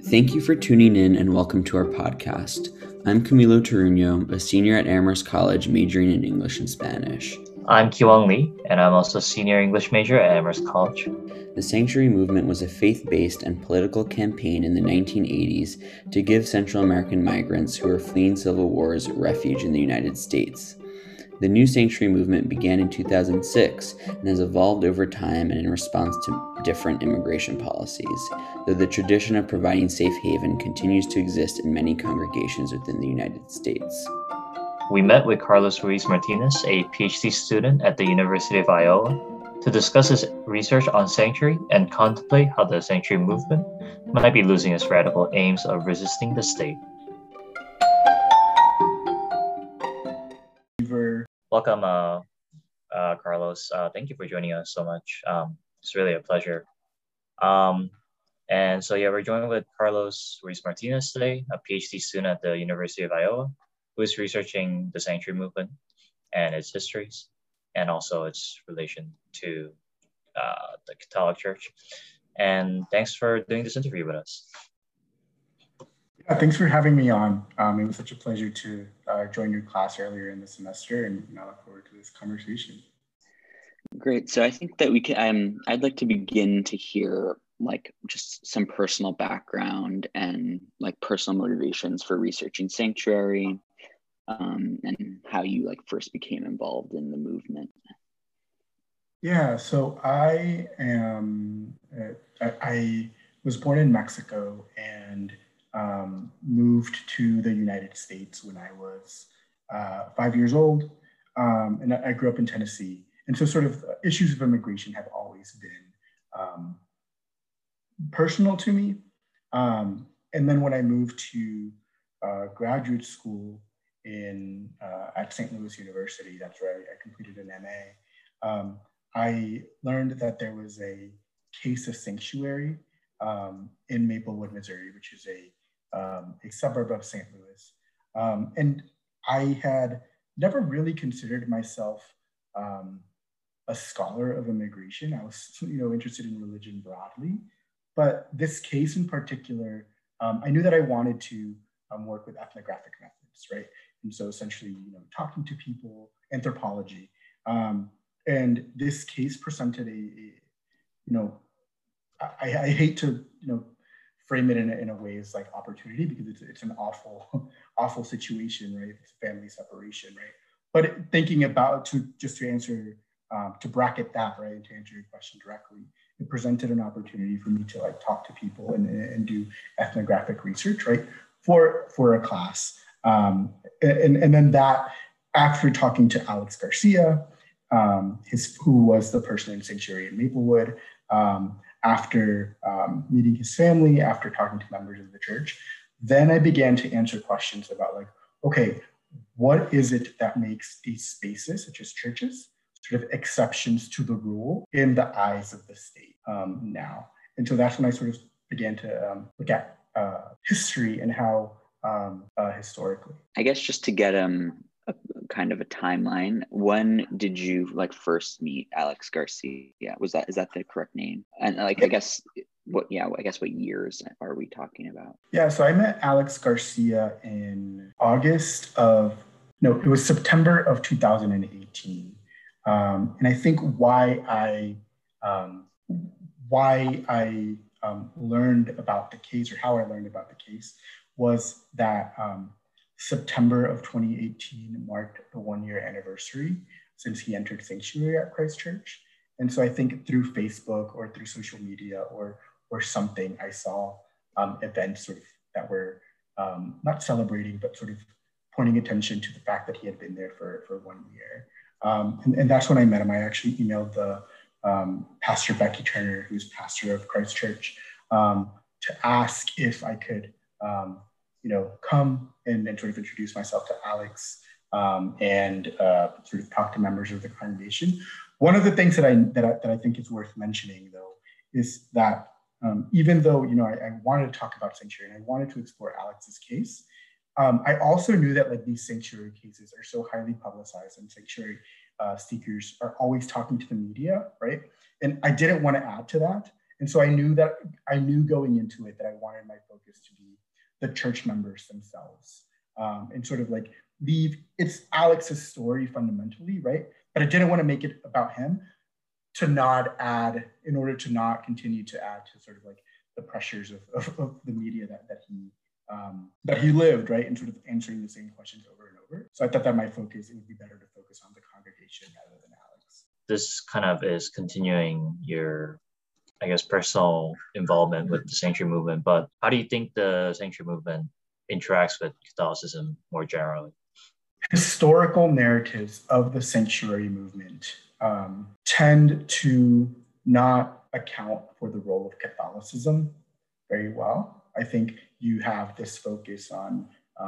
Thank you for tuning in and welcome to our podcast. I'm Camilo Toruño, a senior at Amherst College majoring in English and Spanish. I'm Kiwang Lee, and I'm also a senior English major at Amherst College. The Sanctuary Movement was a faith-based and political campaign in the 1980s to give Central American migrants who were fleeing civil wars refuge in the United States. The New Sanctuary Movement began in 2006 and has evolved over time and in response to different immigration policies, though the tradition of providing safe haven continues to exist in many congregations within the United States. We met with Carlos Ruiz Martinez, a PhD student at the University of Iowa, to discuss his research on sanctuary and contemplate how the sanctuary movement might be losing its radical aims of resisting the state. Welcome, Carlos. Thank you for joining us so much. It's really a pleasure. We're joined with Carlos Ruiz Martinez today, a PhD student at the University of Iowa, who is researching the sanctuary movement and its histories, and also its relation to the Catholic Church. And thanks for doing this interview with us. Yeah, thanks for having me on. It was such a pleasure to join your class earlier in the semester, and I look forward to this conversation. Great. So I think that we can. I'd like to begin to hear just some personal background and personal motivations for researching sanctuary, and how you first became involved in the movement. Yeah. So I am. I was born in Mexico and moved to the United States when I was 5 years old, and I grew up in Tennessee. And so sort of issues of immigration have always been personal to me. And then when I moved to graduate school at St. Louis University, that's where I completed an MA, I learned that there was a case of sanctuary in Maplewood, Missouri, which is a suburb of St. Louis. And I had never really considered myself a scholar of immigration. I was, interested in religion broadly, but this case in particular, I knew that I wanted to work with ethnographic methods, right? And so essentially, talking to people, anthropology, and this case presented I hate to, frame it in a way as opportunity, because it's an awful situation, right? It's family separation, right? But thinking about to answer, to bracket that, right, and to answer your question directly, it presented an opportunity for me to talk to people and do ethnographic research, right, for a class. And then that, after talking to Alex Garcia, who was the person in sanctuary in Maplewood, after meeting his family, after talking to members of the church, then I began to answer questions about okay, what is it that makes these spaces, such as churches, sort of exceptions to the rule in the eyes of the state now? And so that's when I sort of began to look at history and how historically. I guess just to get a kind of a timeline, when did you first meet Alex Garcia? Is that the correct name? And I guess what years are we talking about? Yeah, so I met Alex Garcia in it was September of 2018. And I think why I learned about the case, or how I learned about the case, was that September of 2018 marked the 1-year anniversary since he entered sanctuary at Christ Church. And so I think through Facebook or through social media or something, I saw events sort of that were not celebrating, but sort of pointing attention to the fact that he had been there for 1 year. And that's when I met him. I actually emailed the Pastor Becky Turner, who's pastor of Christ Church, to ask if I could come and sort of introduce myself to Alex and sort of talk to members of the congregation. One of the things that I think is worth mentioning, though, is that even though I wanted to talk about sanctuary and I wanted to explore Alex's case, I also knew that these sanctuary cases are so highly publicized, and sanctuary seekers are always talking to the media, right? And I didn't want to add to that. And so I knew going into it that I wanted my focus to be the church members themselves, and sort of like it's Alex's story fundamentally, right? But I didn't want to make it about him in order to not continue to add to sort of like the pressures of the media that he lived, right? And sort of answering the same questions over and over. So I thought that it would be better to focus on the congregation rather than Alex. This kind of is continuing your, I guess, personal involvement with the sanctuary movement, but how do you think the sanctuary movement interacts with Catholicism more generally? Historical narratives of the sanctuary movement tend to not account for the role of Catholicism very well. I think you have this focus on,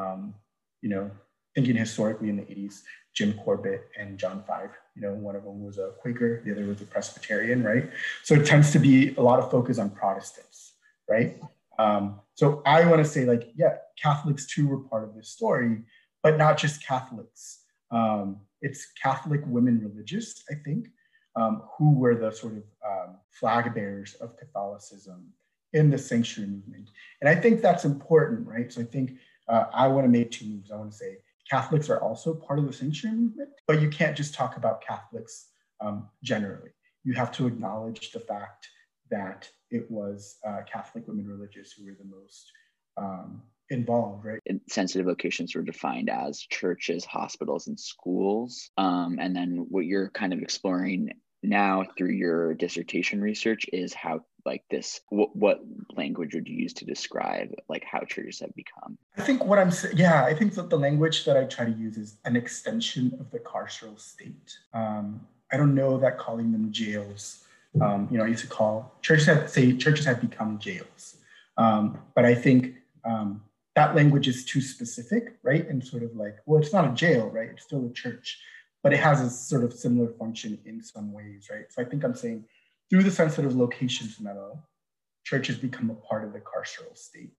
thinking historically in the 80s, Jim Corbett and John Five. One of them was a Quaker, the other was a Presbyterian, right? So it tends to be a lot of focus on Protestants, right? So I want to say, like, yeah, Catholics too were part of this story, but not just Catholics. It's Catholic women religious, I think, who were the sort of flag bearers of Catholicism in the sanctuary movement. And I think that's important, right? So I think I want to make two moves. I want to say Catholics are also part of the sanctuary movement, but you can't just talk about Catholics generally. You have to acknowledge the fact that it was Catholic women religious who were the most involved, right? Sensitive vocations were defined as churches, hospitals, and schools. And then what you're kind of exploring now through your dissertation research is how, like, this, what language would you use to describe like how churches have become? I think I think that the language that I try to use is an extension of the carceral state. I don't know that calling them jails. I used to call churches have become jails. But I think that language is too specific, right? And sort of like, well, it's not a jail, right? It's still a church, but it has a sort of similar function in some ways, right? So I think I'm saying through the sensitive locations memo, churches become a part of the carceral state.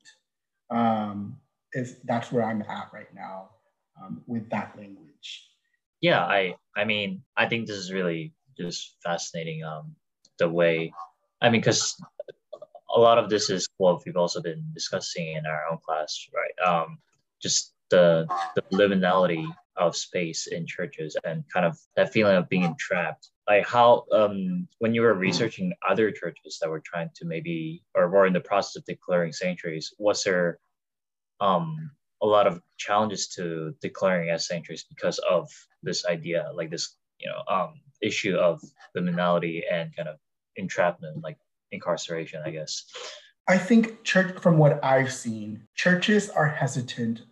That's where I'm at right now with that language. Yeah, I mean, I think this is really just fascinating. The way, because a lot of this is what we've also been discussing in our own class, right? Just the liminality of space in churches and kind of that feeling of being entrapped. Like how, when you were researching other churches that were trying to maybe, or were in the process of declaring sanctuaries, was there a lot of challenges to declaring as sanctuaries because of this idea, like this, issue of liminality and kind of entrapment, like incarceration, I guess? I think from what I've seen, some churches are hesitant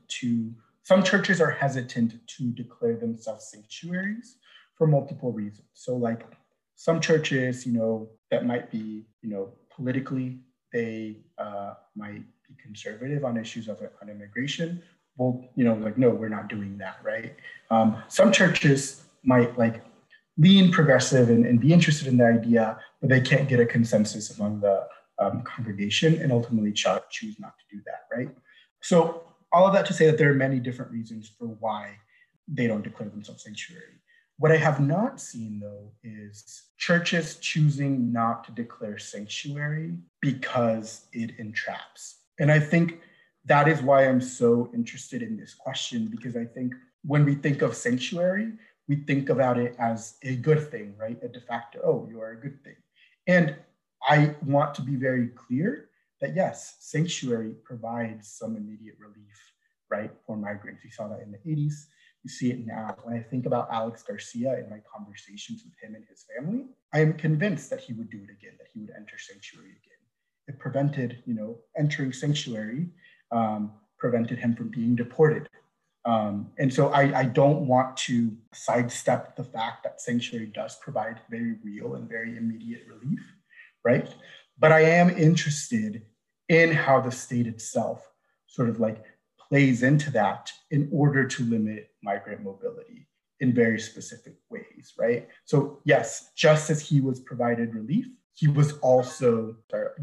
to declare themselves sanctuaries for multiple reasons. So like some churches, that might be, politically, they might be conservative on issues on immigration. Well, like, no, we're not doing that, right? Some churches might like lean progressive and be interested in the idea, but they can't get a consensus among the congregation and ultimately choose not to do that, right? So all of that to say that there are many different reasons for why they don't declare themselves sanctuary. What I have not seen, though, is churches choosing not to declare sanctuary because it entraps. And I think that is why I'm so interested in this question, because I think when we think of sanctuary, we think about it as a good thing, right? A de facto, oh, you are a good thing. And I want to be very clear that yes, sanctuary provides some immediate relief, right, for migrants. We saw that in the 80s. You see it now. When I think about Alex Garcia in my conversations with him and his family, I am convinced that he would do it again, that he would enter sanctuary again. It prevented, entering sanctuary, prevented him from being deported. And so I don't want to sidestep the fact that sanctuary does provide very real and very immediate relief, right? But I am interested in how the state itself sort of like plays into that in order to limit migrant mobility in very specific ways, right? So yes, just as he was provided relief, he was also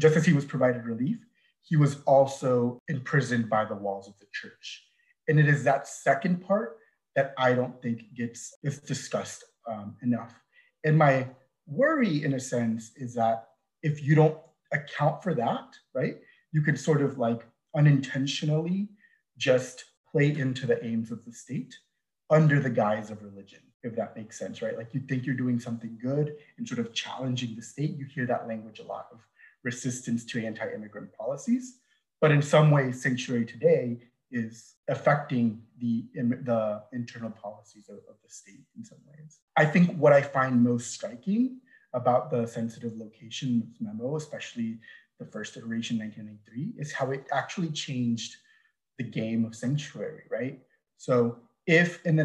imprisoned by the walls of the church. And it is that second part that I don't think gets discussed enough. And my worry, in a sense, is that if you don't account for that, right, you could sort of like unintentionally just play into the aims of the state under the guise of religion, if that makes sense, right? Like you think you're doing something good and sort of challenging the state. You hear that language a lot of resistance to anti-immigrant policies. But in some ways, sanctuary today is affecting the internal policies of the state in some ways. I think what I find most striking about the sensitive locations memo, especially the first iteration, 1993, is how it actually changed the game of sanctuary, right? So if in the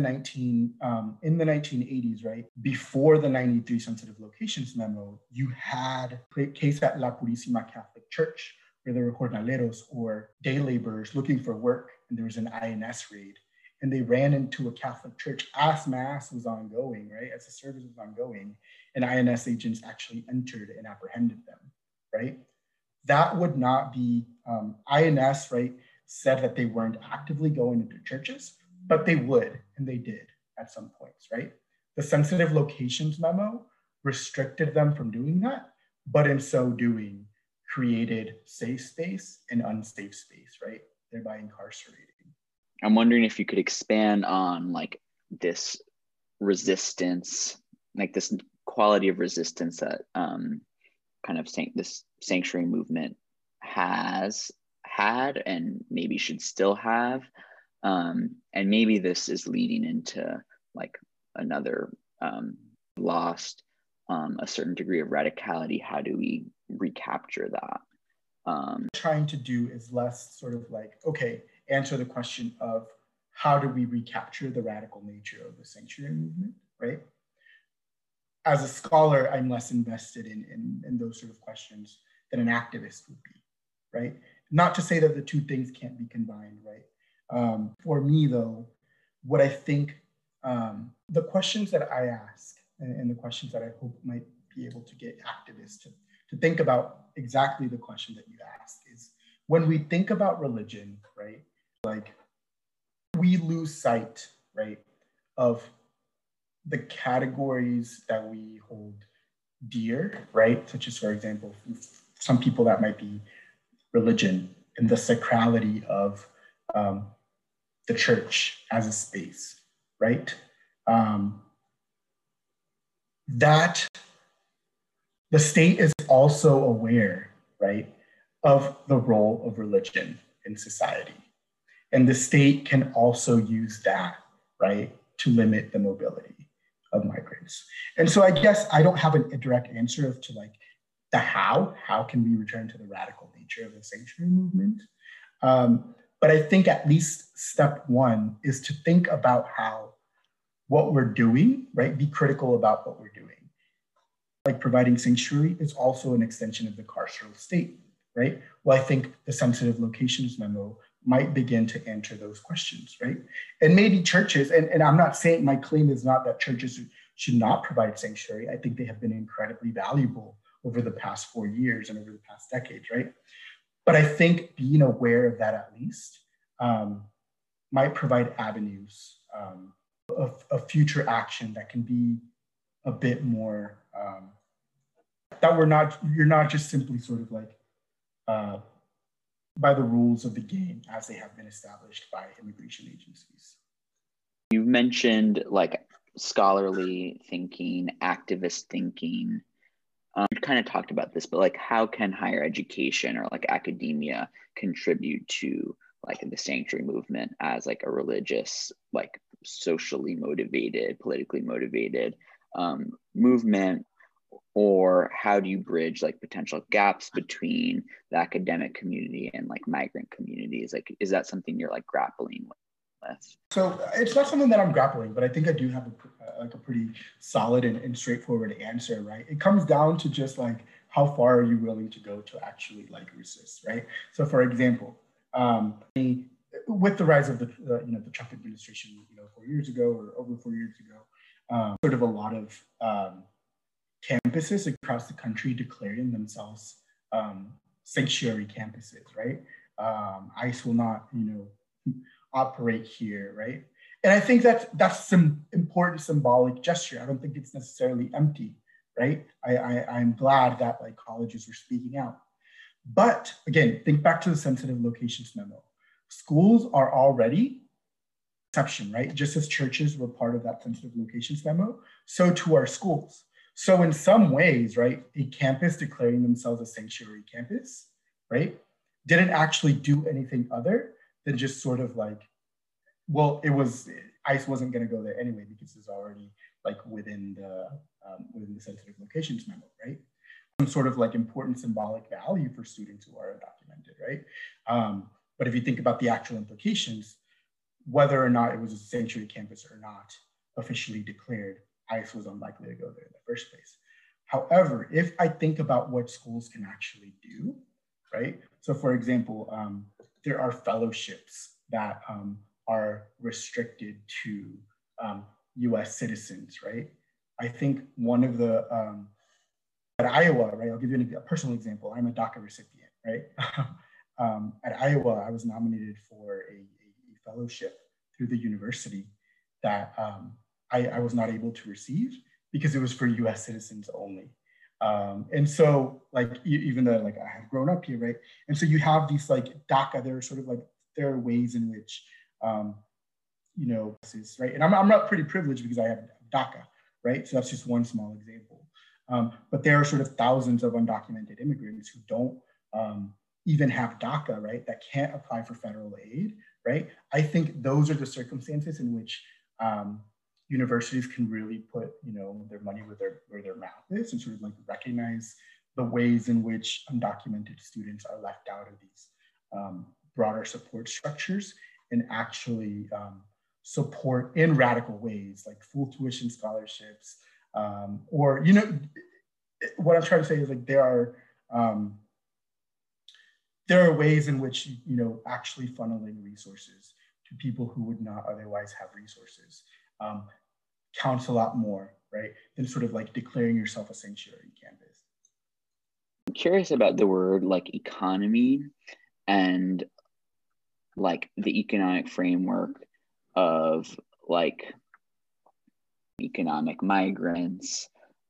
1980s, right, before the 93 sensitive locations memo, you had a case at La Purísima Catholic Church where there were jornaleros or day laborers looking for work, and there was an INS raid, and they ran into a Catholic church as mass was ongoing, right, as the service was ongoing, and INS agents actually entered and apprehended them, right? That would not be, INS, right, said that they weren't actively going into churches, but they would, and they did at some points, right? The sensitive locations memo restricted them from doing that, but in so doing, created safe space and unsafe space, right? Thereby incarcerating. I'm wondering if you could expand on like this resistance, like this quality of resistance that kind of this sanctuary movement has had and maybe should still have. And maybe this is leading into like another lost a certain degree of radicality. How do we recapture that? Trying to do is less sort of like, okay, answer the question of how do we recapture the radical nature of the sanctuary movement, right? As a scholar, I'm less invested in those sort of questions than an activist would be, right? Not to say that the two things can't be combined, right? For me, though, what I think, the questions that I ask and the questions that I hope might be able to get activists to think about exactly the question that you asked is, when we think about religion, right, like we lose sight, right, of the categories that we hold dear, right, such as, for example, some people that might be religion and the sacrality of the church as a space, right? That the state is also aware, right, of the role of religion in society. And the state can also use that, right, to limit the mobility of migrants. And so I guess I don't have a direct answer of to like the how can we return to the radical nature of the sanctuary movement? But I think at least step one is to think about how what we're doing, right, be critical about what we're doing. Like providing sanctuary is also an extension of the carceral state, right? Well, I think the sensitive locations memo might begin to answer those questions, right? And maybe churches, and I'm not saying, my claim is not that churches should not provide sanctuary. I think they have been incredibly valuable over the past 4 years and over the past decades, right? But I think being aware of that at least might provide avenues of future action that can be a bit more, that you're not just simply sort of like by the rules of the game as they have been established by immigration agencies. You mentioned like scholarly thinking, activist thinking. You kind of talked about this, but like how can higher education or like academia contribute to like the sanctuary movement as like a religious, like socially motivated, politically motivated movement? Or how do you bridge like potential gaps between the academic community and like migrant communities? Like, is that something you're like grappling with? So it's not something that I'm grappling, but I think I do have a pretty solid and straightforward answer, right? It comes down to just like, how far are you willing to go to actually like resist, right? So for example, with the rise of the Trump administration, 4 years ago or over 4 years ago, sort of a lot of campuses across the country declaring themselves sanctuary campuses, right? ICE will not, operate here, right? And I think that's some important symbolic gesture. I don't think it's necessarily empty, right? I'm glad that like colleges are speaking out. But again, think back to the sensitive locations memo. Schools are already exception, right? Just as churches were part of that sensitive locations memo, so too are schools. So in some ways, right, a campus declaring themselves a sanctuary campus, right, didn't actually do anything other than just sort of like, well, ICE wasn't going to go there anyway because it's already like within the sensitive locations memo, right? Some sort of like important symbolic value for students who are undocumented, right? But if you think about the actual implications, whether or not it was a sanctuary campus or not officially declared, ICE was unlikely to go there in the first place. However, if I think about what schools can actually do, right? So for example, there are fellowships that are restricted to US citizens, right? I think one of the, at Iowa, right? I'll give you a personal example. I'm a DACA recipient, right? At Iowa, I was nominated for a fellowship through the university that I was not able to receive because it was for US citizens only. And so like, even though like I have grown up here, right? And so you have these like DACA, there are ways in which, you know, right? And I'm not pretty privileged because I have DACA, right? So that's just one small example. But there are sort of thousands of undocumented immigrants who don't even have DACA, right? That can't apply for federal aid, right? I think those are the circumstances in which universities can really put, you know, their money where their mouth is and sort of like recognize the ways in which undocumented students are left out of these broader support structures and actually support in radical ways, like full tuition scholarships, or, you know, what I'm trying to say is like there are ways in which, you know, actually funneling resources to people who would not otherwise have resources counts a lot more, right, than sort of like declaring yourself a sanctuary campus. I'm curious about the word like economy and like the economic framework of like economic migrants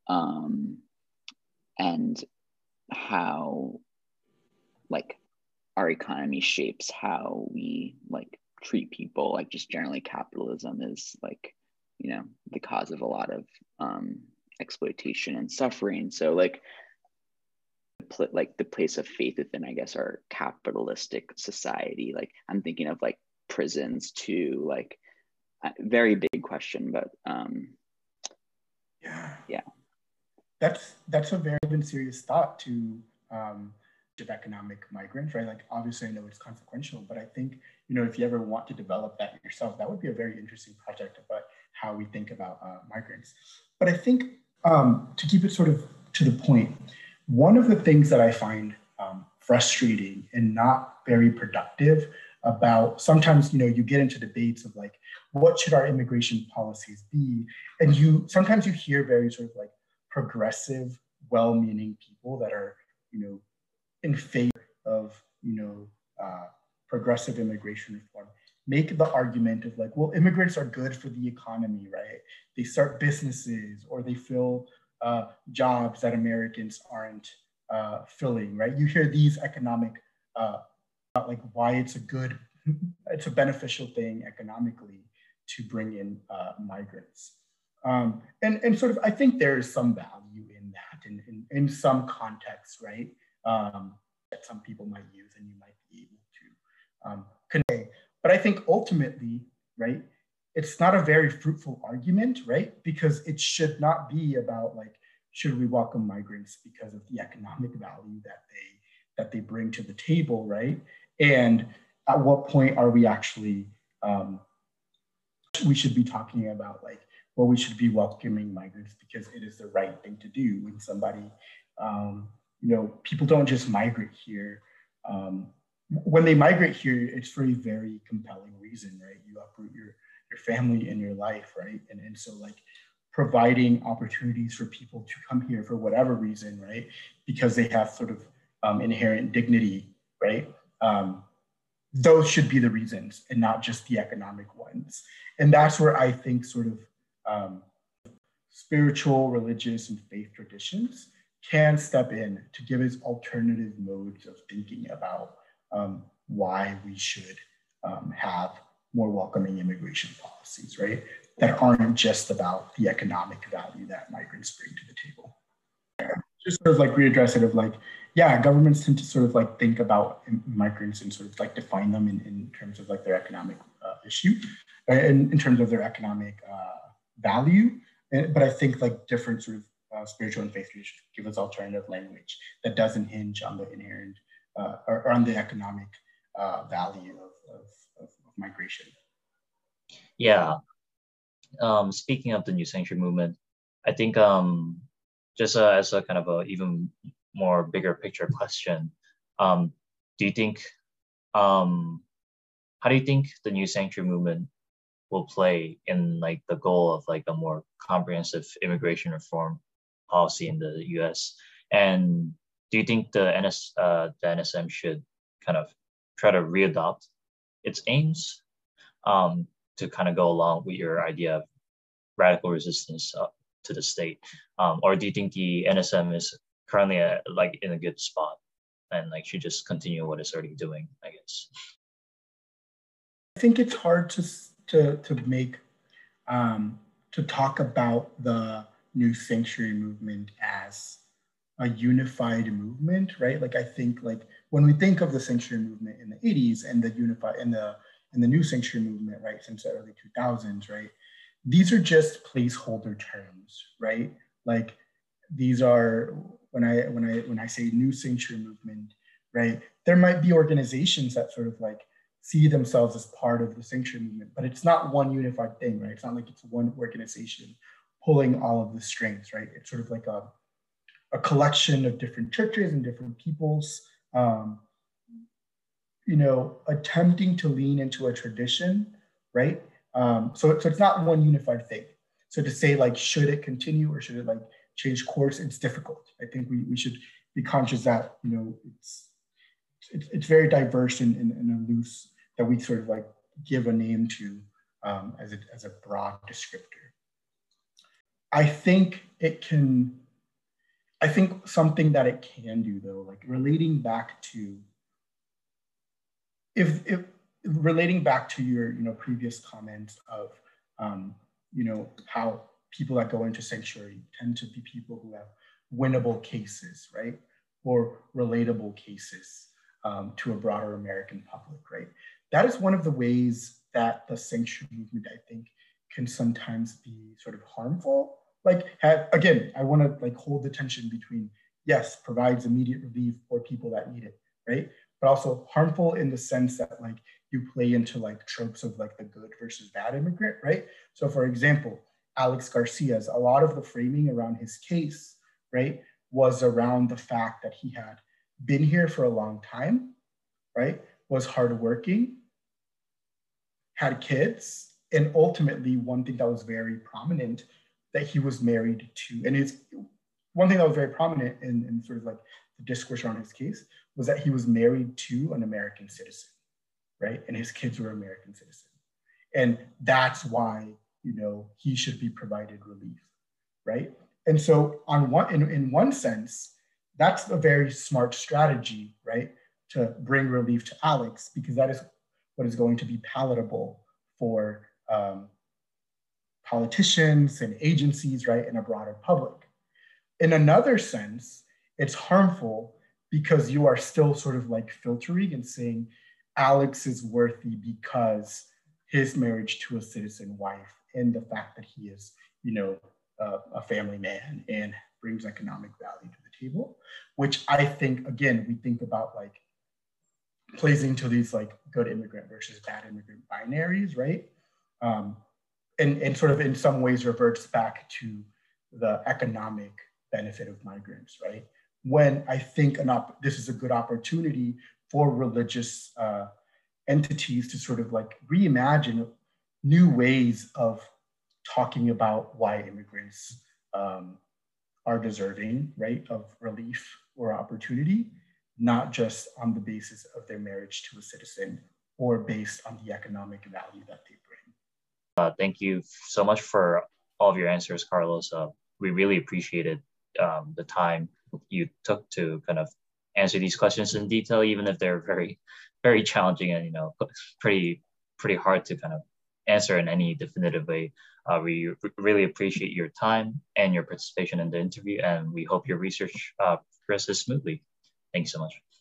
and how like our economy shapes how we like treat people. Like just generally capitalism is like, you know, the cause of a lot of exploitation and suffering. So like the place of faith within, I guess, our capitalistic society. Like I'm thinking of like prisons too, like very big question, but yeah. That's a very serious thought to of economic migrants, right? Like obviously I know it's consequential, but I think, you know, if you ever want to develop that yourself, that would be a very interesting project about how we think about migrants. But I think to keep it sort of to the point, one of the things that I find frustrating and not very productive about sometimes, you know, you get into debates of like, what should our immigration policies be? And sometimes you hear very sort of like progressive, well-meaning people that are, you know, in favor of, you know, progressive immigration reform make the argument of like, well, immigrants are good for the economy, right? They start businesses or they fill jobs that Americans aren't filling, right? You hear these economic, like why it's a beneficial thing economically to bring in migrants. And sort of, I think there is some value in that in some context, right? That some people might use and you might be able to convey. But I think ultimately, right, it's not a very fruitful argument, right? Because it should not be about like, should we welcome migrants because of the economic value that they bring to the table, right? And at what point are we actually, we should be talking about like, well, we should be welcoming migrants because it is the right thing to do when somebody, you know, people don't just migrate here. When they migrate here, it's for a very compelling reason, right? You uproot your family and your life, right? And so like providing opportunities for people to come here for whatever reason, right? Because they have sort of inherent dignity, right? Those should be the reasons and not just the economic ones. And that's where I think sort of spiritual, religious, and faith traditions can step in to give us alternative modes of thinking about why we should have more welcoming immigration policies, right? That aren't just about the economic value that migrants bring to the table. Just sort of like readdress it of like, yeah, governments tend to sort of like think about migrants and sort of like define them in terms of like their economic issue, in terms of their economic value. But I think like different sort of spiritual and faith traditions give us alternative language that doesn't hinge on the inherent or on the economic value of migration. Yeah. Speaking of the New Sanctuary movement, I think just as a kind of a even more bigger picture question, do you think, how do you think the New Sanctuary movement will play in like the goal of like a more comprehensive immigration reform policy in the U.S.? And do you think the NSM should kind of try to readopt its aims to kind of go along with your idea of radical resistance to the state? Or do you think the NSM is currently like in a good spot and like should just continue what it's already doing, I guess? I think it's hard to make, to talk about the New Sanctuary movement as a unified movement, right? Like I think like when we think of the sanctuary movement in the 80s and the New Sanctuary movement, right, since the early 2000s, right? These are just placeholder terms, right? Like these are, when I say New Sanctuary movement, right? There might be organizations that sort of like see themselves as part of the sanctuary movement, but it's not one unified thing, right? It's not like it's one organization pulling all of the strings, right? It's sort of like a collection of different churches and different peoples, attempting to lean into a tradition, right? So it's not one unified thing. So to say like, should it continue or should it like change course? It's difficult. I think we should be conscious that, it's very diverse and loose that we sort of like give a name to as a broad descriptor. I think something that it can do though, like relating back to, relating back to your previous comments of how people that go into sanctuary tend to be people who have winnable cases, right, or relatable cases to a broader American public, right? That is one of the ways that the sanctuary movement, I think, can sometimes be sort of harmful. Like, again, I want to like hold the tension between, yes, provides immediate relief for people that need it, right? But also harmful in the sense that like you play into like tropes of like the good versus bad immigrant, right? So for example, Alex Garcia's, a lot of the framing around his case, right, was around the fact that he had been here for a long time, right, was hardworking, had kids, and ultimately one thing that was very prominent that he was married to, and one thing that was very prominent in sort of like the discourse around his case was that he was married to an American citizen, right? And his kids were American citizens. And that's why, he should be provided relief, right? And so in one sense, that's a very smart strategy, right? To bring relief to Alex, because that is what is going to be palatable for politicians and agencies, right? And a broader public. In another sense, it's harmful because you are still sort of like filtering and saying Alex is worthy because his marriage to a citizen wife and the fact that he is, a family man and brings economic value to the table, which I think, again, we think about like plays into these like good immigrant versus bad immigrant binaries, right? And sort of in some ways reverts back to the economic benefit of migrants, right? When I think this is a good opportunity for religious entities to sort of like reimagine new ways of talking about why immigrants are deserving, right, of relief or opportunity, not just on the basis of their marriage to a citizen or based on the economic value that they bring. Thank you so much for all of your answers, Carlos. We really appreciated the time you took to kind of answer these questions in detail, even if they're very, very challenging and pretty hard to kind of answer in any definitive way. We really appreciate your time and your participation in the interview, and we hope your research progresses smoothly. Thanks so much.